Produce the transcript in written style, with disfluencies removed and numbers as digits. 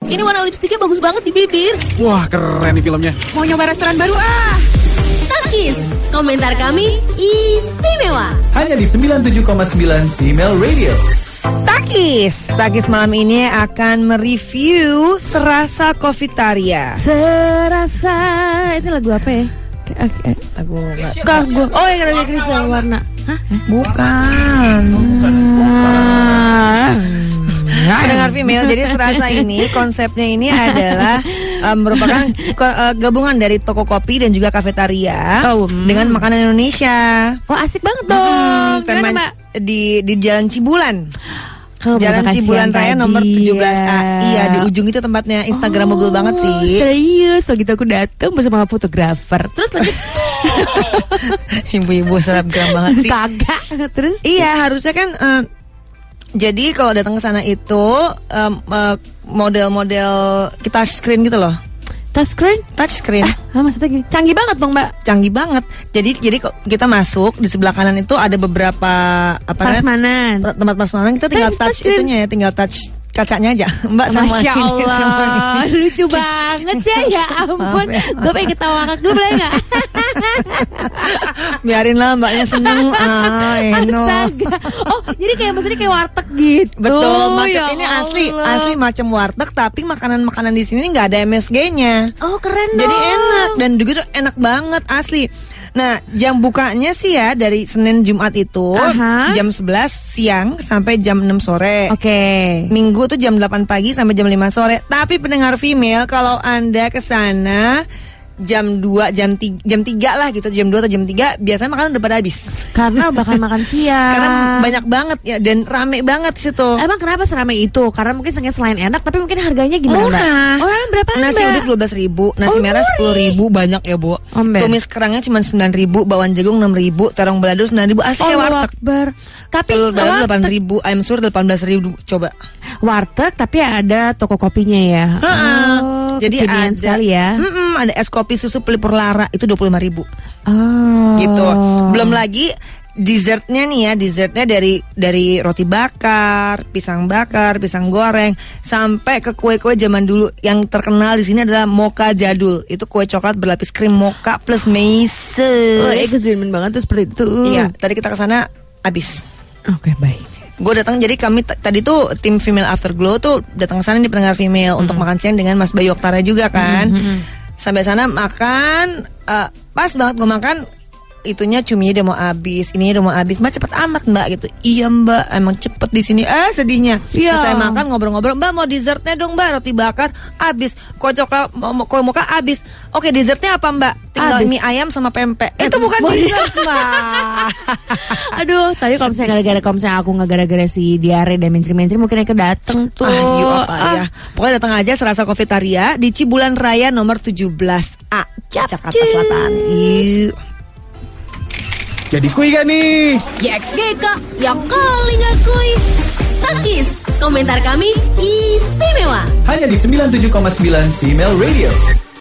Ini warna lipstiknya bagus banget di bibir. Wah, keren nih filmnya. Mau nyoba restoran baru ah. Takis, komentar kami istimewa. Hanya di 97,9 Female Radio. Takis malam ini akan mereview Serasa Cofitaria. Serasa, itu lagu apa ya? Lagu Oh yang ada Kristal warna. Hah? Bukan. Pendengar female, jadi Serasa ini konsepnya ini adalah merupakan gabungan dari toko kopi dan juga kafetaria dengan makanan Indonesia. Oh asik banget dong. Di Jalan Cibulan. Jalan Cibulan Raya nomor 17A. Iya, di ujung itu tempatnya. Instagramable banget sih. Serius, so gitu aku datang bersama fotografer. Terus lanjut. Ibu-ibu selebgram banget sih. Kagak. Terus? Iya, harusnya kan jadi kalau datang ke sana itu model-model kita screen gitu loh. Touchscreen. Maksudnya gini. Canggih banget dong, Mbak. Canggih banget. Jadi kita masuk di sebelah kanan itu ada beberapa prasmanan. Tempat prasmanan kita tinggal touch itunya ya, tinggal touch kacanya aja. Mbak sama Masya ini, Allah, sama ini. lucu banget ya ampun. Gue pengen ketawa ngakak dulu boleh nggak? Biarin lah mbaknya seneng. Astaga. Oh jadi maksudnya kayak warteg gitu. Betul, macam ya ini asli macam warteg, tapi makanan di sini nggak ada MSG-nya. Oh keren dong. Jadi enak dan juga enak banget asli. Nah, jam bukanya sih ya dari Senin Jumat itu jam 11 siang sampai jam 6 sore. Oke. Minggu tuh jam 8 pagi sampai jam 5 sore. Tapi pendengar female, kalau Anda kesana jam 2, jam 3 lah gitu, jam 2 atau jam 3 biasanya makanan udah pada habis. Karena bakal makan siang. Karena banyak banget ya dan rame banget situ. Emang kenapa seramai itu? Karena mungkin selain enak tapi mungkin harganya gimana? Murah. Oh, berapa Mbak? Nasi uduk 12.000, nasi merah 10.000, banyak ya, Bu. Tumis kerangnya cuma 9.000, bawang jagung 6.000, terong balado 9.000, asli kayak warteg. Tapi telur balado 8.000, ayam sur 18.000, coba. Warteg tapi ada toko kopinya ya. Jadi ada sekali ya. Ada es kopi susu pelipur lara itu 25.000. Oh. Gitu. Belum lagi dessertnya nih ya, dessertnya dari roti bakar, pisang goreng, sampai ke kue-kue zaman dulu. Yang terkenal di sini adalah mocha jadul. Itu kue coklat berlapis krim mocha plus meses. Oh, excitement banget tuh seperti itu. Iya, tadi kita kesana habis. Oke, baik. Gue datang, jadi kami tadi tuh tim Female Afterglow tuh datang ke sana di pendengar female untuk makan siang dengan Mas Bayu Oktara juga kan. Sampai sana makan, pas banget gue makan, itunya cuminya udah mau habis, ininya udah mau habis. Mbak cepet amat Mbak gitu. Iya Mbak, emang cepet di sini. Sedihnya. Selesai makan ngobrol-ngobrol, Mbak mau dessertnya dong Mbak, roti bakar habis, kue coklat, kue mocha habis. Oke, dessertnya apa Mbak? Tinggal mie ayam sama pempek. Itu bukan dessert Mbak. Aduh, tadi kalau misalnya aku nggak gara-gara si diare dan mainstream mungkin aku dateng tuh. Ya. Pokoknya datang aja Serasa Cofitaria di Cibulan Raya nomor 17A, Jakarta Selatan. Jadi kui gak nih? YXGK yang kali ngakui. Takis, komentar kami istimewa. Hanya di 97,9 Female Radio.